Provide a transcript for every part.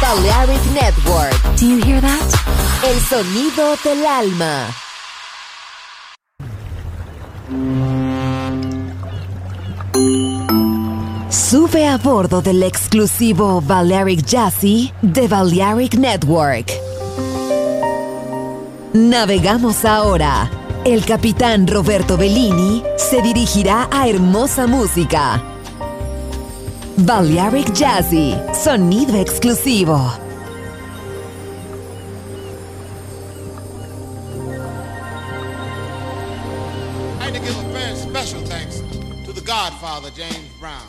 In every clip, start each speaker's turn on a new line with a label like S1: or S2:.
S1: Balearic Network.
S2: Do you hear that?
S1: El sonido del alma. Sube a bordo del exclusivo Balearic Jazzy de Balearic Network. Navegamos ahora. El capitán Roberto Bellini se dirigirá a hermosa música. Balearic Jazzy, sonido exclusivo.
S3: I'd like to give a very special thanks to the Godfather, James Brown.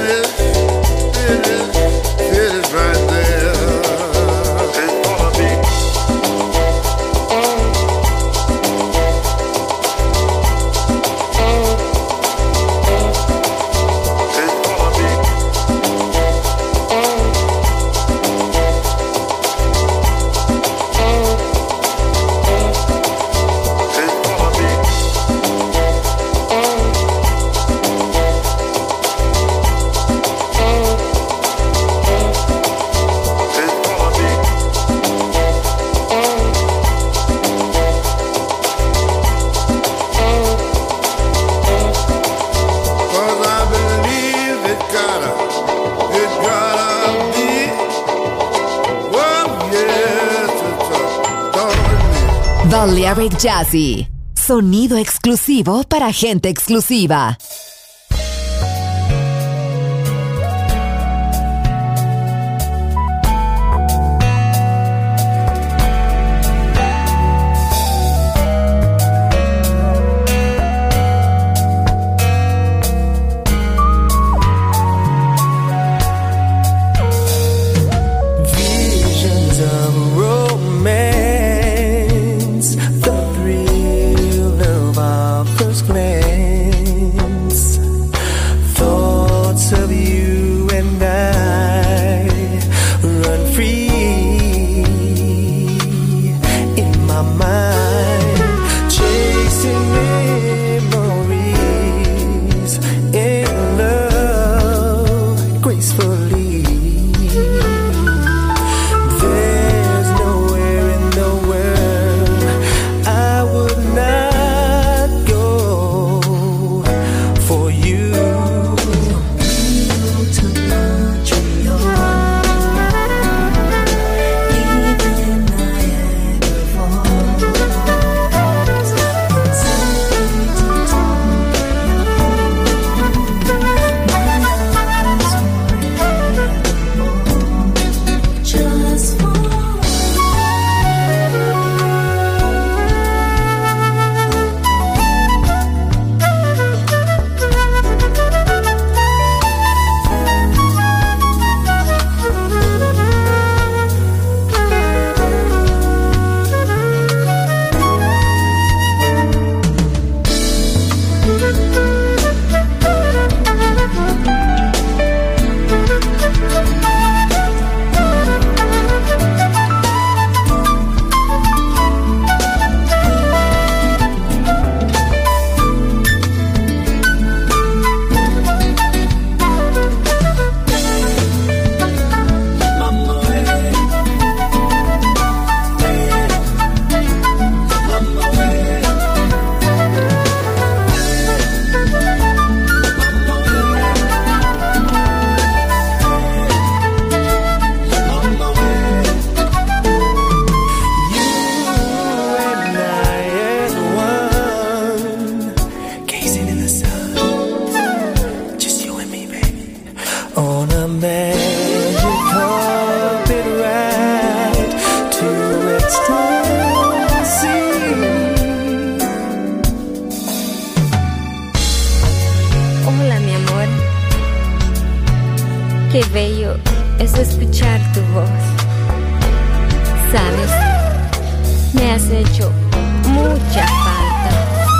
S1: Balearic Jazzy, sonido exclusivo para gente exclusiva.
S2: Qué bello es escuchar tu voz. Sabes, me has hecho mucha falta.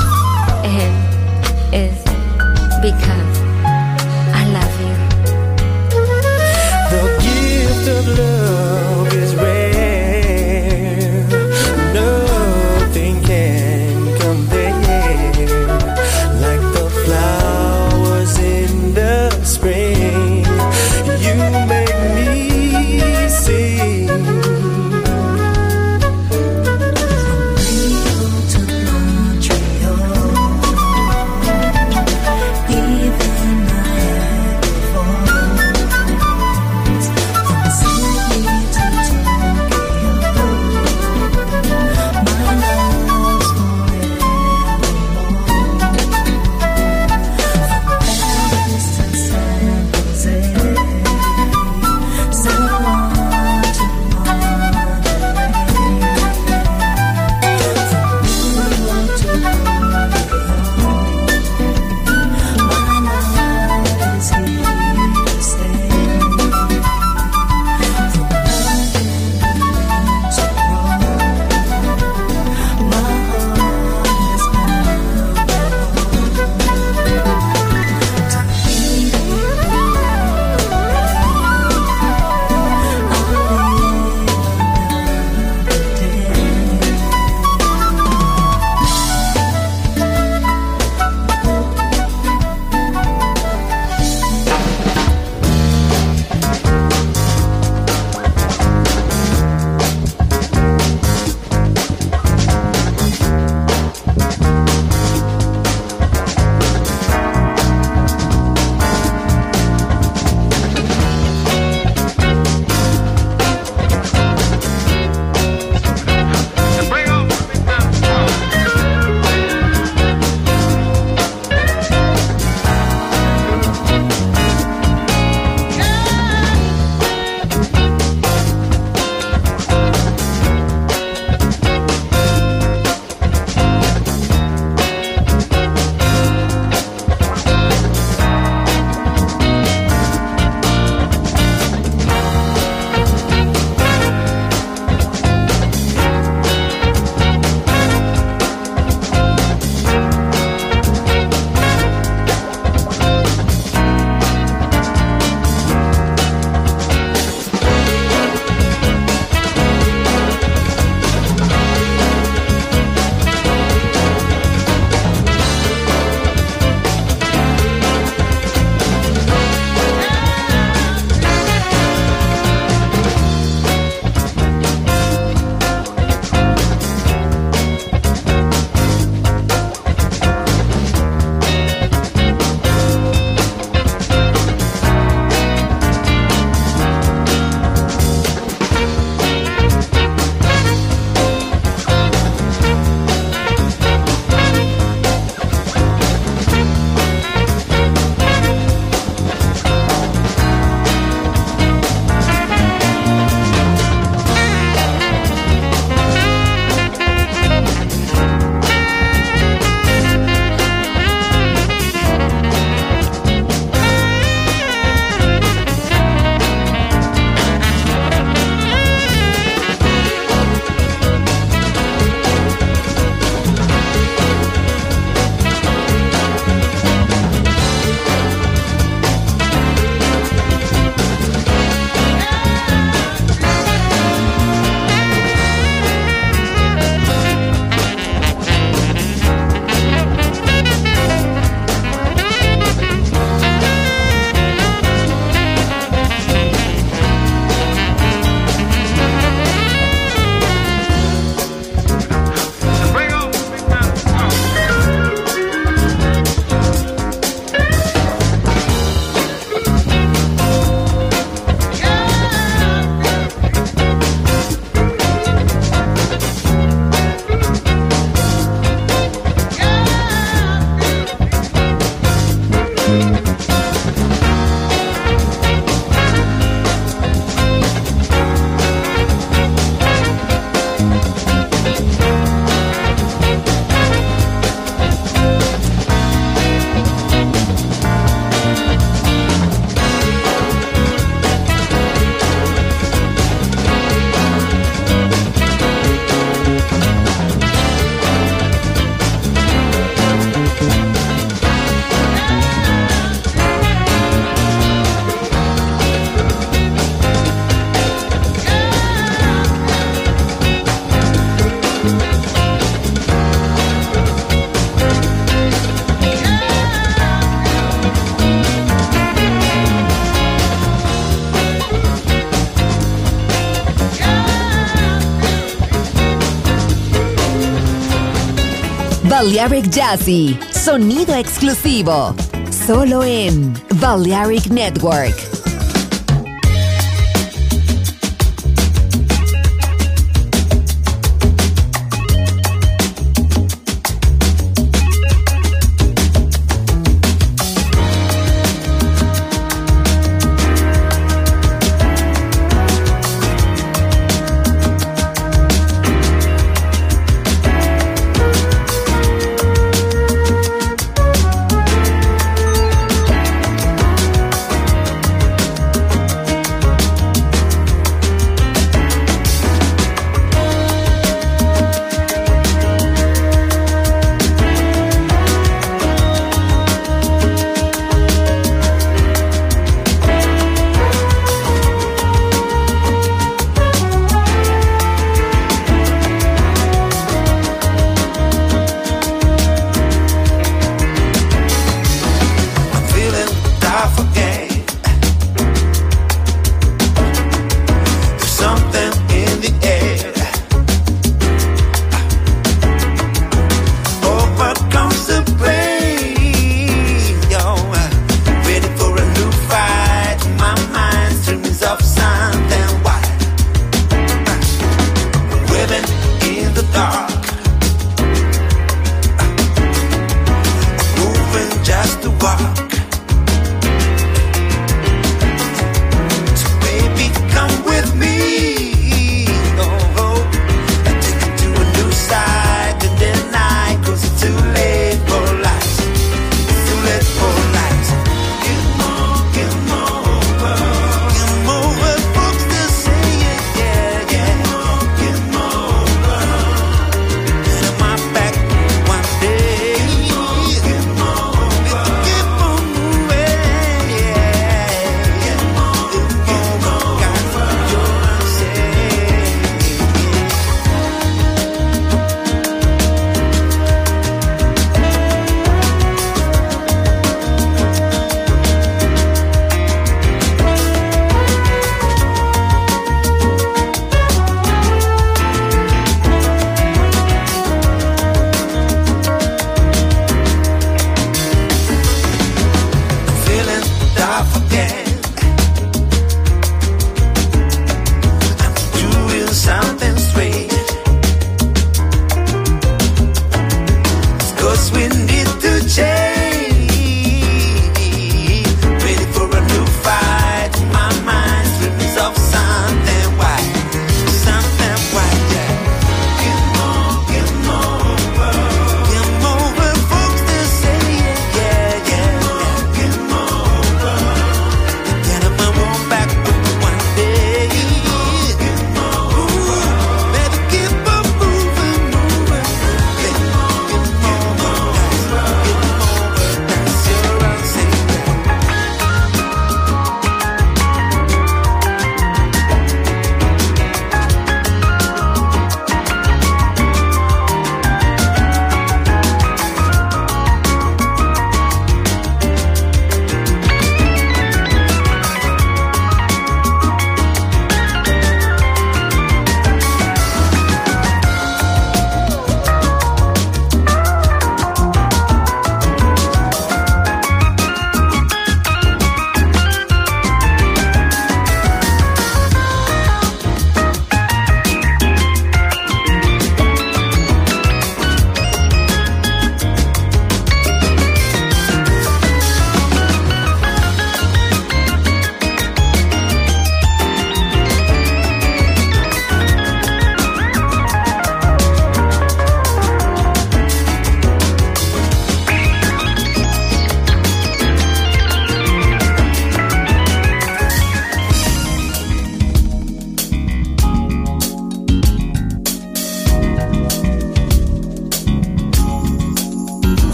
S2: And it's because I love you.
S4: The gift of love is rare. Nothing can compare. Like the flowers in the spring, you make me sing. Rio to Montreal, even
S1: Balearic Jazzy, sonido exclusivo, solo en Balearic Network.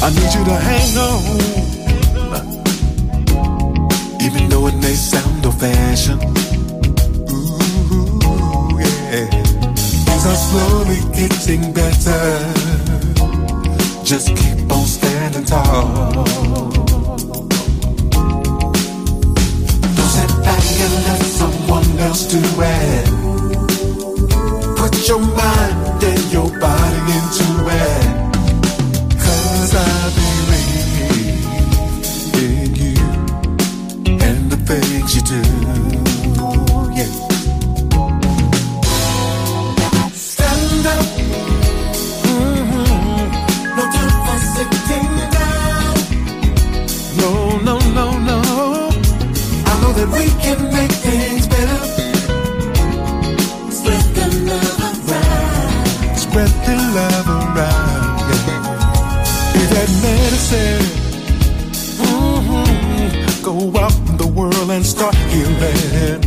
S5: I need you to hang on, even though it may sound old-fashioned. Ooh, yeah. Things are slowly getting better. Just keep on standing tall. Don't sit back and let someone else do it. Put your mind and your body into it. 'Cause I believe in you and the things you do. Yeah. Stand up. No time for sitting down. No, no, no, no. I know that we can make things better. Spread the love around. Spread the love around. Yeah. Be that medicine. Go out in the world and start healing.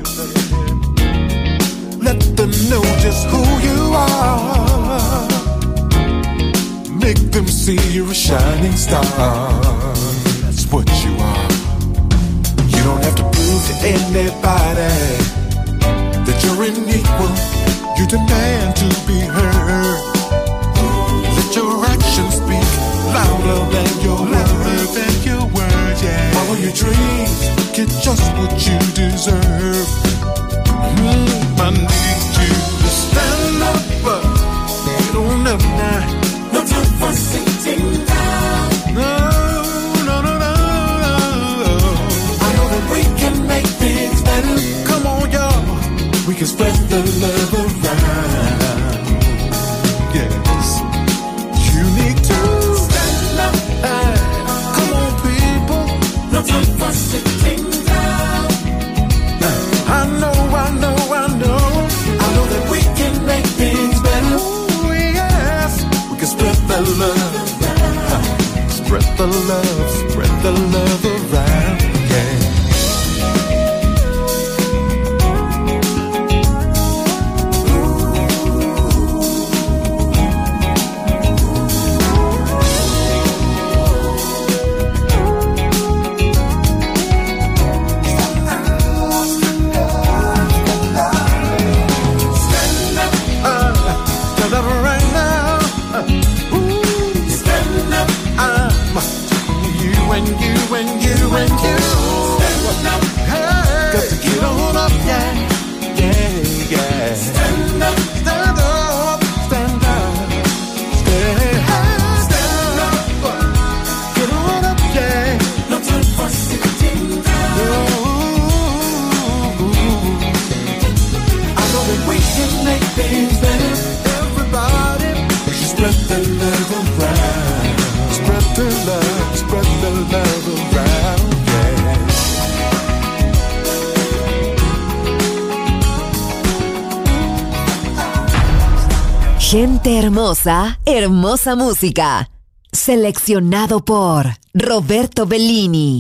S5: Let them know just who you are. Make them see you're a shining star. That's what you are. You don't have to prove to anybody that you're unequal. You demand to be heard. Let your actions speak louder than your words. Yeah. Follow your dreams, get just what you deserve. I need you to stand up. Get on up now. No time for sitting down. No, no, no, no, no. I know that we can make things better. Come on, y'all. We can spread the love around. Yes. You need to stand up. Come on, people. No time for sitting down. I know, I know, I know. I know that we can make things better. Oh, yes. We can spread the love. Spread the love. Spread the love around. Yeah. Got to get on up, yeah, yeah, yeah. Stand up, stand up, stand up, stand up. Get on up, yeah. No time for sitting down. I know that we can make things better. Everybody, we should spread the love around. Spread the love, spread the love around.
S1: Gente hermosa, hermosa música. Seleccionado por Roberto Bellini.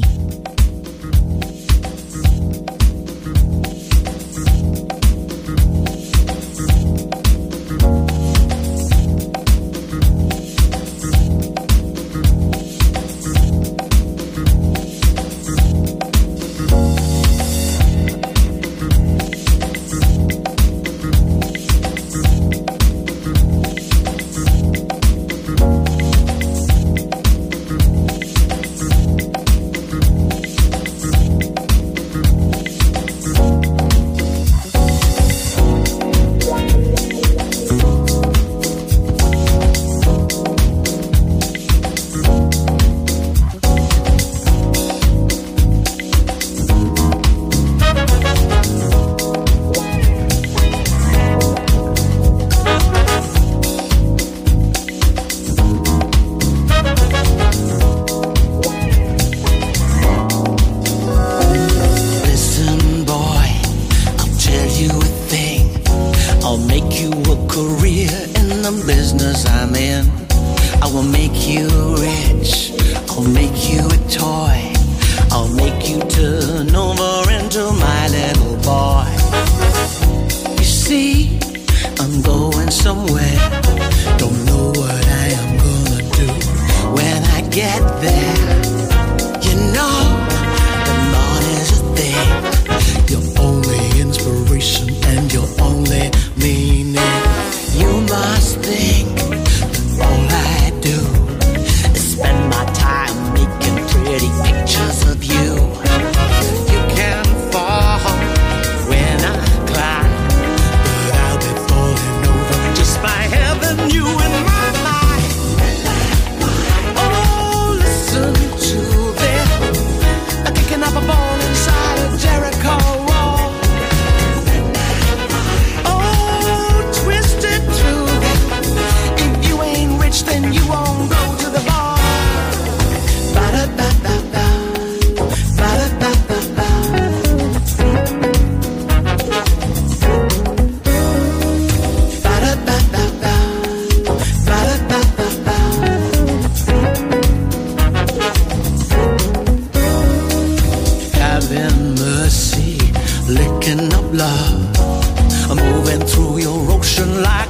S6: somewhere. Don't know what I am gonna do when I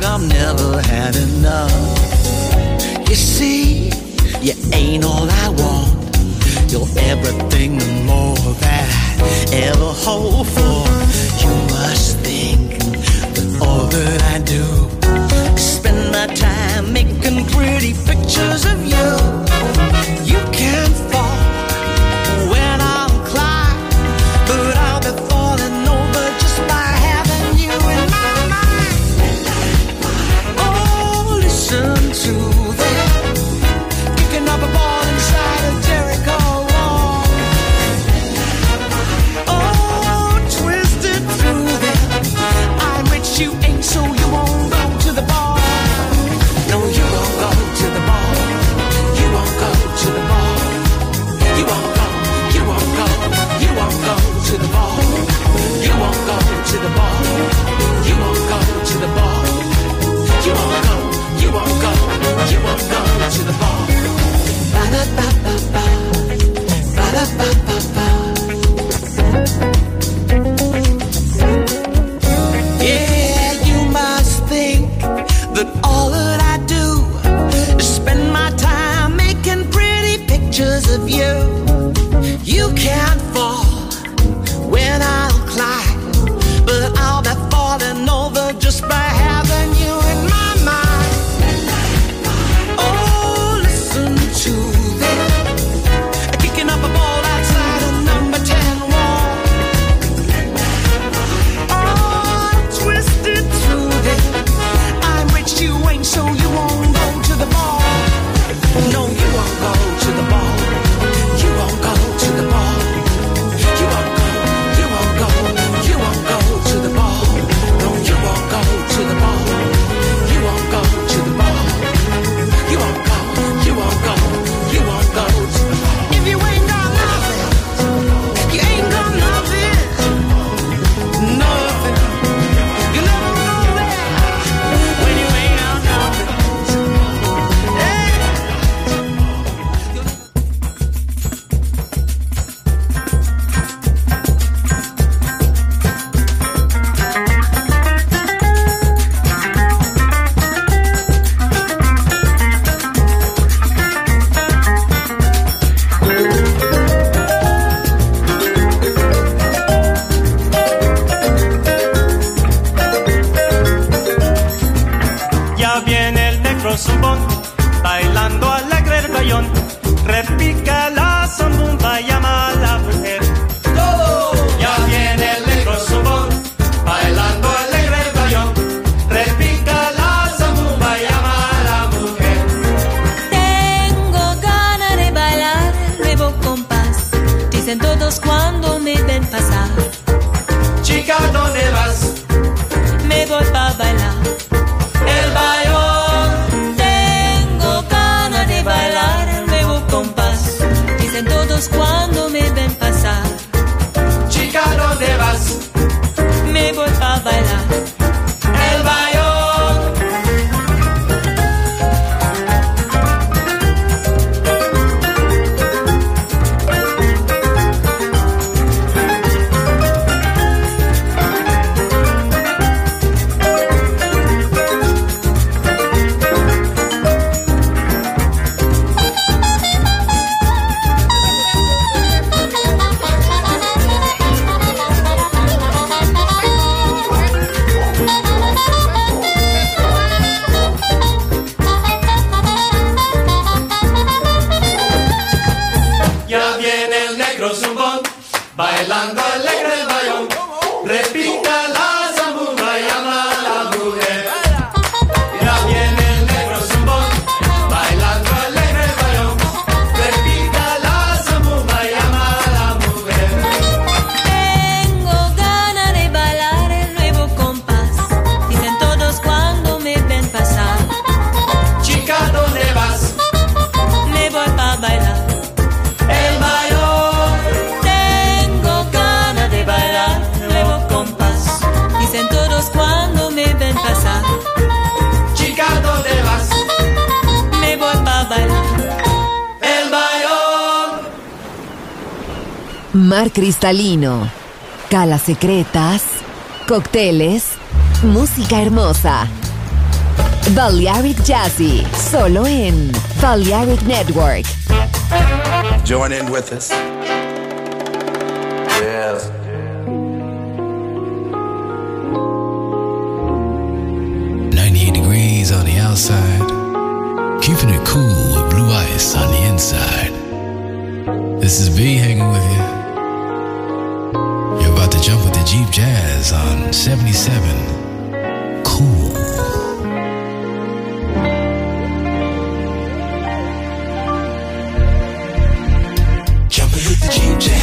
S6: I've never had enough. You see, you ain't all I want. You're everything and more that I ever hope for. You must think that all that I do is spend my time making pretty pictures of you. You can't fall when I'll climb, but I'll be falling over just by having you in my mind. Oh, listen to that, kicking up a ball inside a Jericho wall. Oh, twisted through that, I'm rich, you ain't, so you won't go to the bar. No, you won't go to the bar. You won't go to the bar. You won't go, you won't go, you won't go to the bar. You won't go to the bar. You won't go to the bar. You won't go, you won't go, you won't go to the bar. Ba-da-ba-ba-ba, ba-da-ba-ba-ba. Yeah, you must think that all that I do is spend my time making pretty pictures of you. You can't fall when I'll climb, but I'll be falling over just by having you in my mind. Oh, listen to that, kicking up a ball outside a number 10 wall. Oh, twisted through that, I'm rich, you ain't, so you won't go to the bar. No, you won't go to the bar. You won't go to the bar. You won't go, you won't go, you won't go to the bar. No, you won't go to the bar. You won't go to the bar. You won't go, you won't go, you won't go to the bar. If you ain't got nothing, you ain't got nothing. Nothing. You never know that when you ain't got nothing. Hey.
S7: Ya viene el negro zumbón, bailando alegre el bayón, repica la zambumba, llama a la mujer. Ya viene el negro zumbón, bailando alegre el bayón, repica la zambumba, llama a la mujer.
S2: Tengo ganas de bailar el nuevo compás, dicen todos cuando me ven pasar.
S7: Chica, ¿dónde vas?
S2: Me voy pa' bailar
S7: El bayón.
S2: tengo ganas de bailar el nuevo compás, dicen todos cuando me ven pasar.
S7: Chica, ¿dónde vas?
S2: Me voy pa' bailar
S7: El bayón. Ya viene el negro zumbón, bailando alegre el bayón, repica la zambumba, llama a la mujer. Ya viene el negro zumbón, bailando alegre el bayón, repica la zambumba, llama a la mujer.
S2: Tengo ganas de bailar el nuevo compás, dicen todos cuando me ven pasar.
S7: Chica, ¿dónde vas?
S2: Me voy pa' bailar
S7: El bayón.
S2: tengo ganas de bailar el nuevo compás, dicen todos cuando me ven pasar.
S7: Chica, ¿dónde vas?
S2: Me voy pa' bailar
S7: El bayón.
S1: Mar cristalino, calas secretas, cócteles, música hermosa. Balearic Jazzy, solo en Balearic Network.
S8: Join in with us. Yes.
S9: On the outside, keeping it cool with blue ice on the inside. This is B hanging with you. You're about to jump with the Jeep Jazz on 77 Cool.
S6: Jumping with the Jeep Jazz.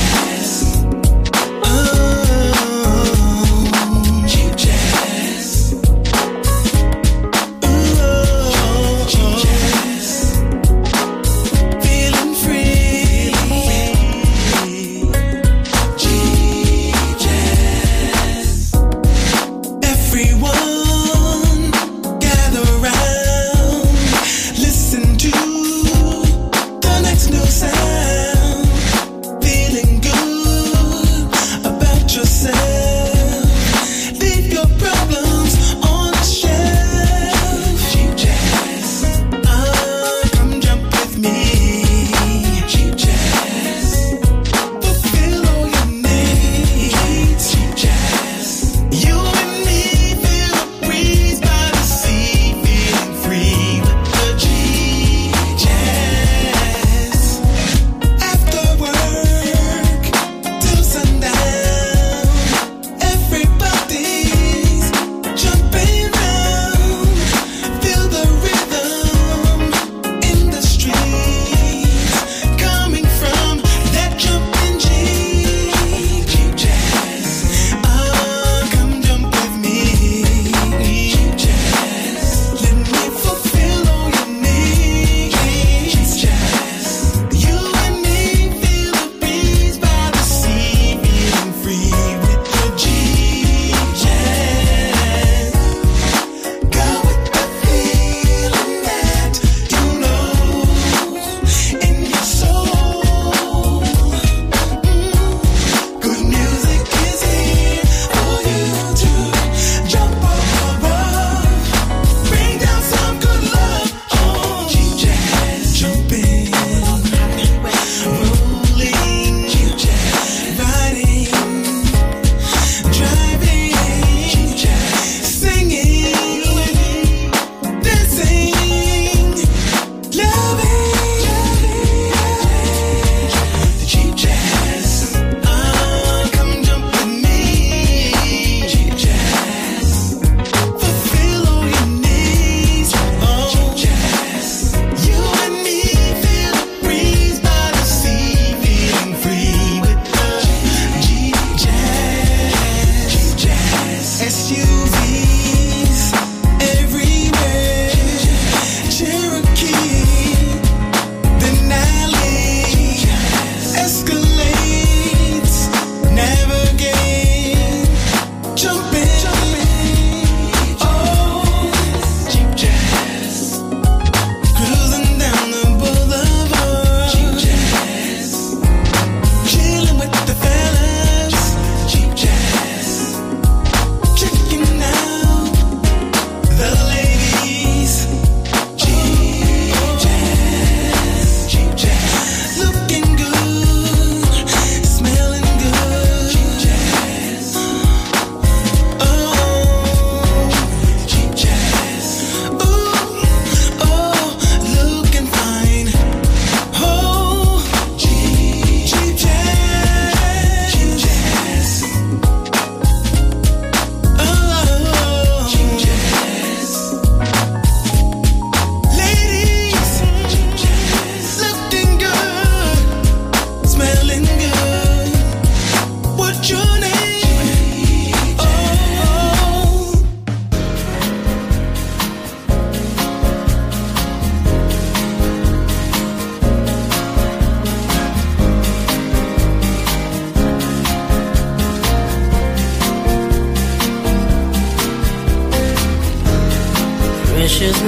S2: precious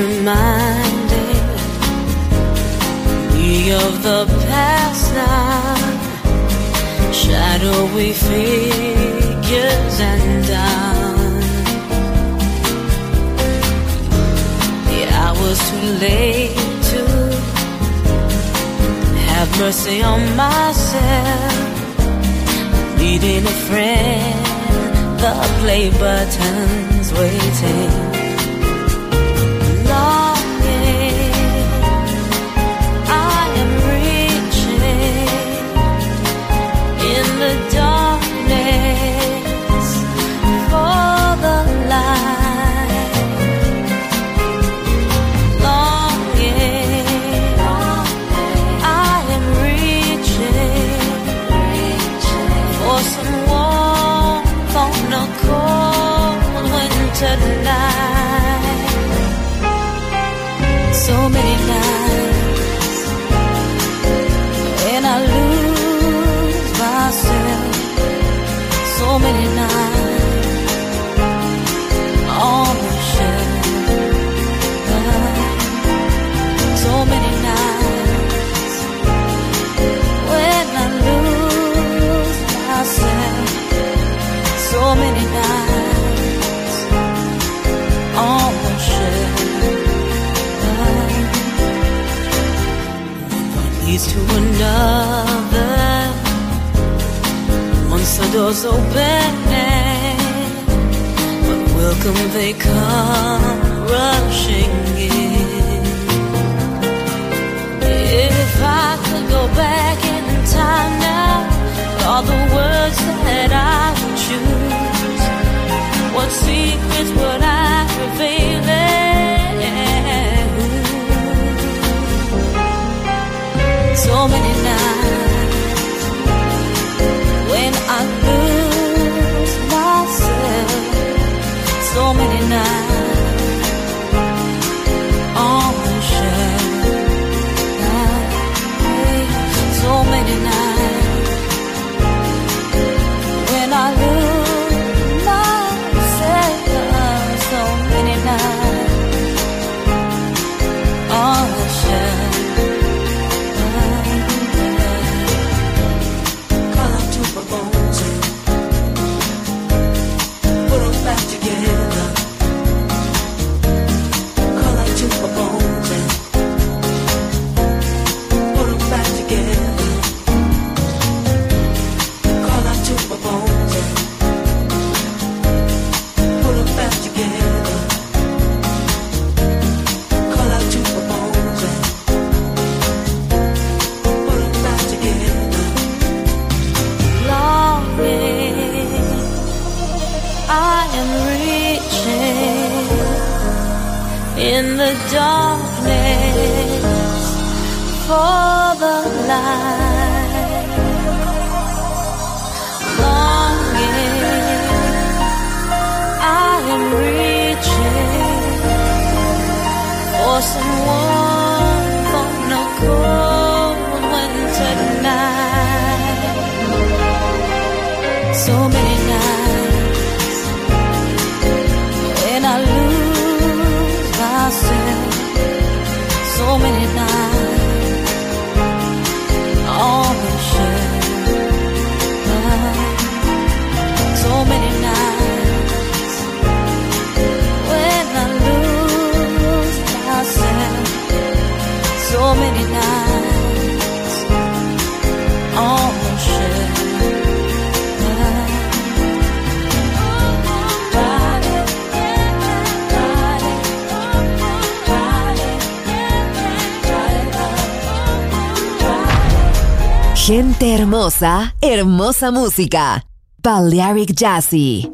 S2: reminded we of the past now, shadowy figures and down. The was too late to have mercy on myself. Needing a friend, the play button's waiting. Longing, I am reaching in the darkness for the light. Longing, I am reaching for some warmth on a cold winter night. So many nights when I lose myself. So many nights on the shelf. So many nights when I lose myself. So many nights on the shelf. One leads to another. Once the door's opening, but welcome they come rushing in. If I could go back in time now, all the words that I would choose, what secrets would I reveal? So many nights when I lose myself. So many nights on the shelf. So many nights when I lose myself. So many nights on the shelf. Call out to my bones and put them back together. Call out to my bones and put them back together. Call out to my bones and put them back together. Call out to my bones and put them back together. Longing, I am reaching in the darkness for the light. Longing, I am reaching for some warmth on a cold winter night. So many nights when I lose myself. So many nights on the shelf. So many nights when I lose myself. So many nights on the shelf.
S1: Gente hermosa, hermosa música. Balearic Jazzy.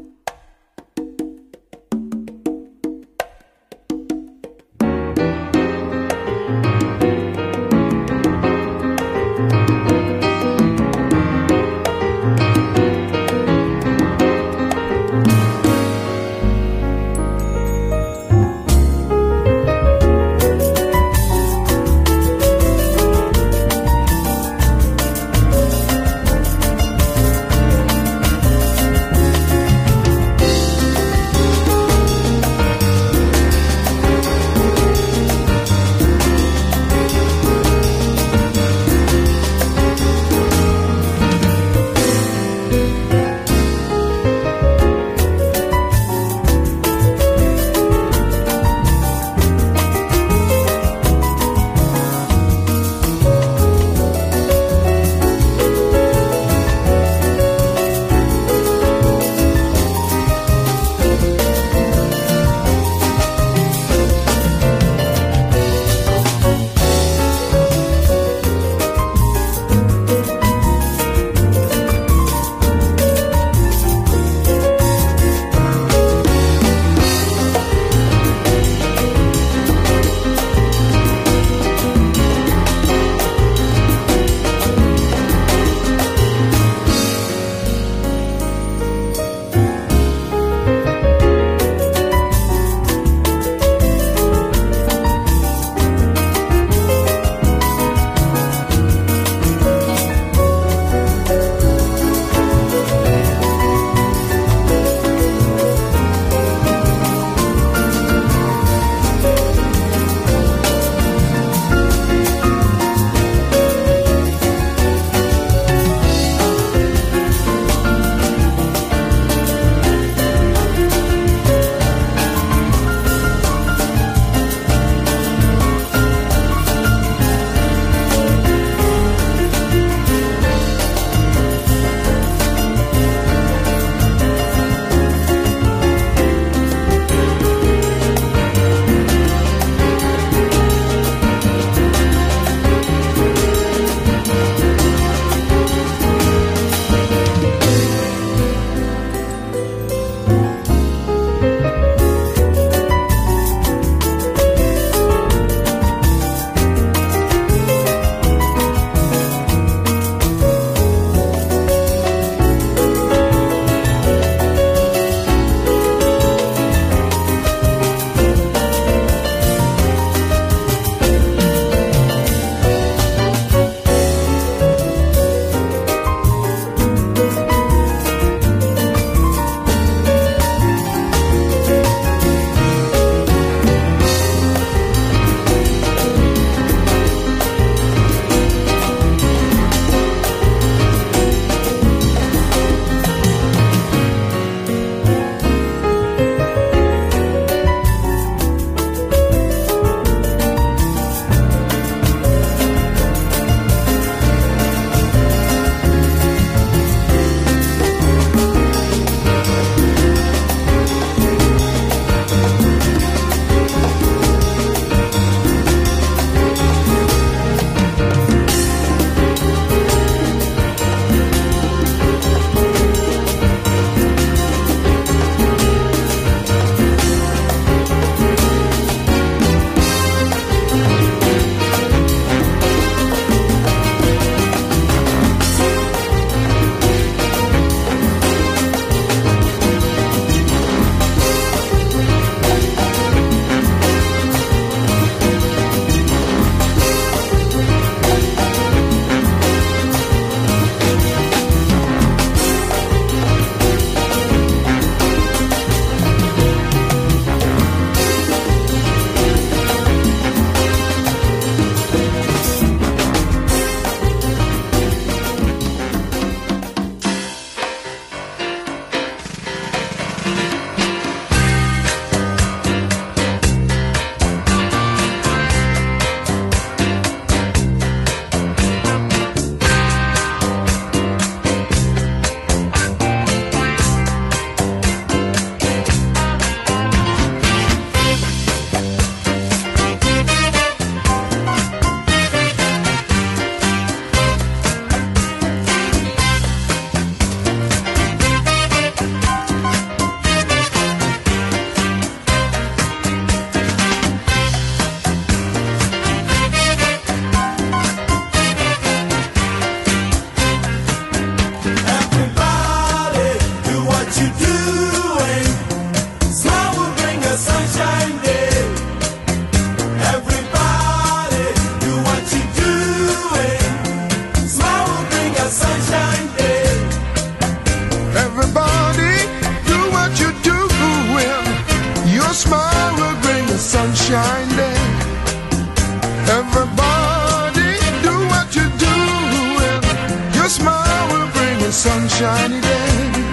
S10: sunshiny day.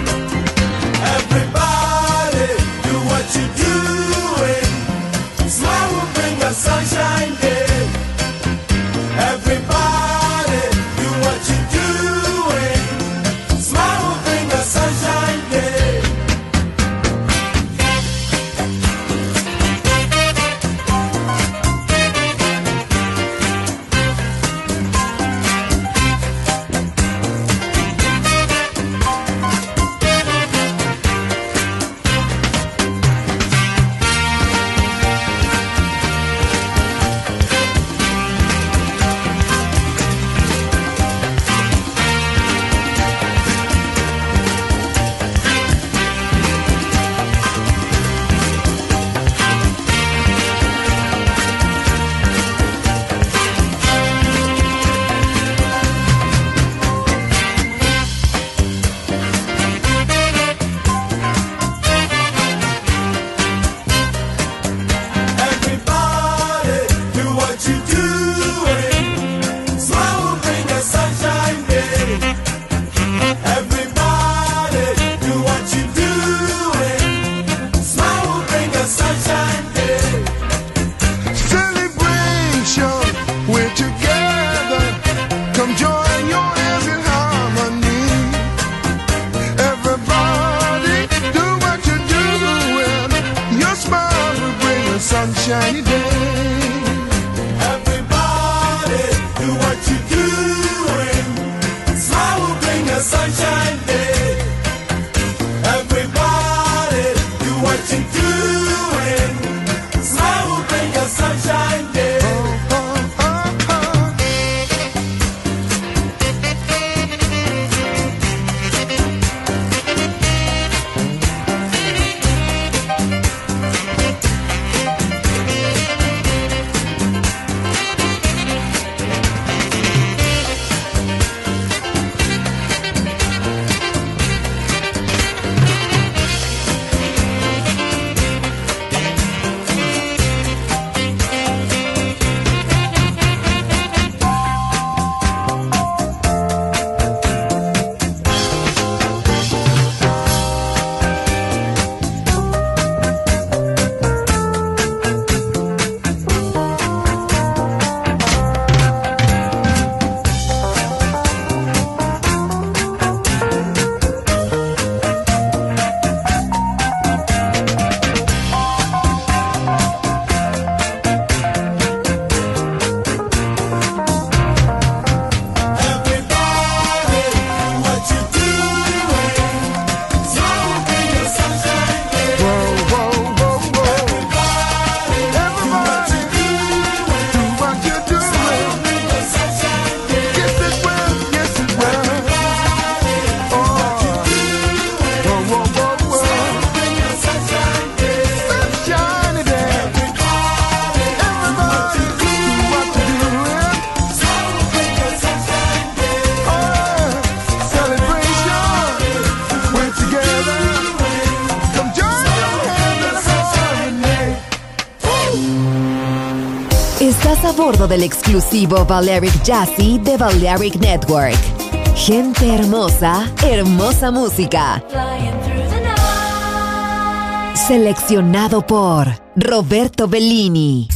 S10: Everybody, do what you're doing. Smile will bring a sunshine day. Everybody, do what you're doing. Smile will bring a sunshine day. Sunshiny day. Everybody, do what you're doing. Smile will bring a sunshine day. Everybody, do what you're doing. Smile will bring a sunshine day.
S1: Estás a bordo del exclusivo Balearic Jazzy de Balearic Network. Gente hermosa, hermosa música. Seleccionado por Roberto Bellini.